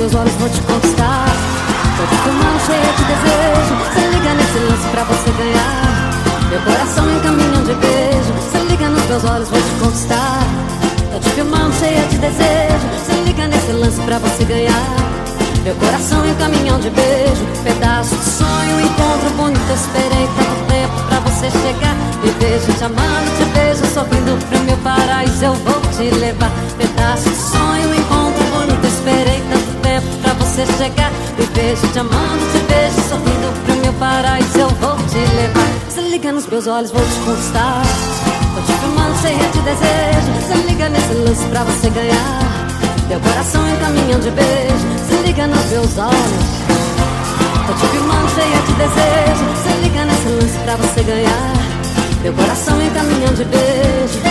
meus olhos, vou te conquistar. Tô te filmando cheia de desejo. Se liga nesse lance pra você ganhar. Meu coração em caminhão de beijo. Se liga nos meus olhos, vou te conquistar. Tô te filmando cheia de desejo. Se liga nesse lance pra você ganhar. Meu coração em caminhão de beijo. Pedaço de sonho, encontro bonito. Esperei tanto tempo pra você chegar. Me vejo te amando, te beijo, sorrindo pro meu paraíso eu vou te levar. Pedaço de sonho, encontro bonito. Esperei tanto tempo pra você chegar. Me vejo te amando, te beijo, sorrindo pro meu paraíso eu vou te levar. Se liga nos meus olhos, vou te conquistar. Tô te filmando cheia de desejo. Se liga nesse lance pra você ganhar. Meu coração em caminhão de beijo. Se liga nos meus olhos. Tô te filmando cheia de desejo. Se liga nesse lance pra você ganhar. Meu coração em caminhão de beijo.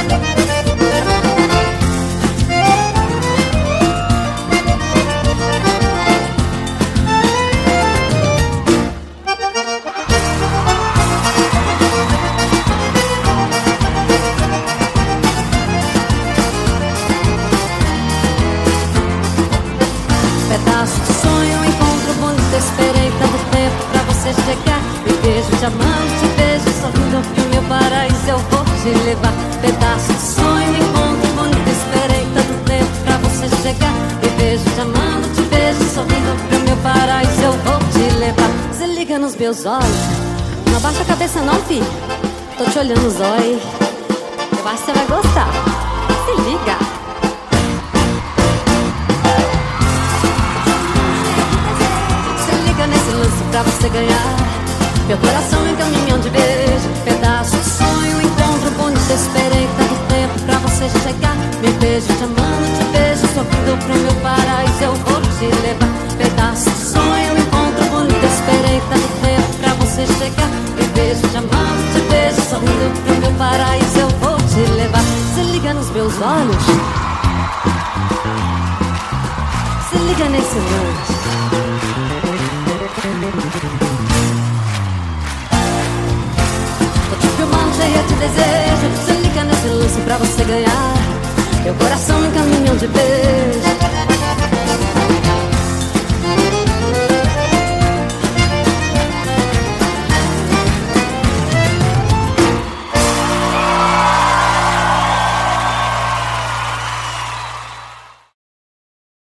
Pedaço de sonho, encontro bonito. Esperei tanto tempo pra você chegar. Me vejo te amando, te beijo, sorrindo pro meu paraíso eu vou te levar. Pedaço de sonho, encontro bonito. Esperei tanto tempo pra você chegar. Me vejo te amando, te beijo, sorrindo pro meu paraíso eu vou te levar. Se liga nos meus olhos. Não abaixa a cabeça não, filho. Tô te olhando nos olhos. Eu acho que você vai gostar. Se liga. Nesse lance pra você ganhar. Meu coração em caminhão de beijo. Pedaço de sonho, encontro bonito. Esperei tanto tempo pra você chegar. Me beijo te amando, te beijo, sorrindo pro meu paraíso eu vou te levar. Pedaço de sonho, encontro bonito. Esperei tanto tempo pra você chegar. Me beijo te amando, te beijo, sorrindo pro meu paraíso eu vou te levar. Se liga nos meus olhos. Se liga nesse lance. Tô te filmando cheia de desejo. Se liga nesse lance pra você ganhar. Meu coração em caminhão de beijo.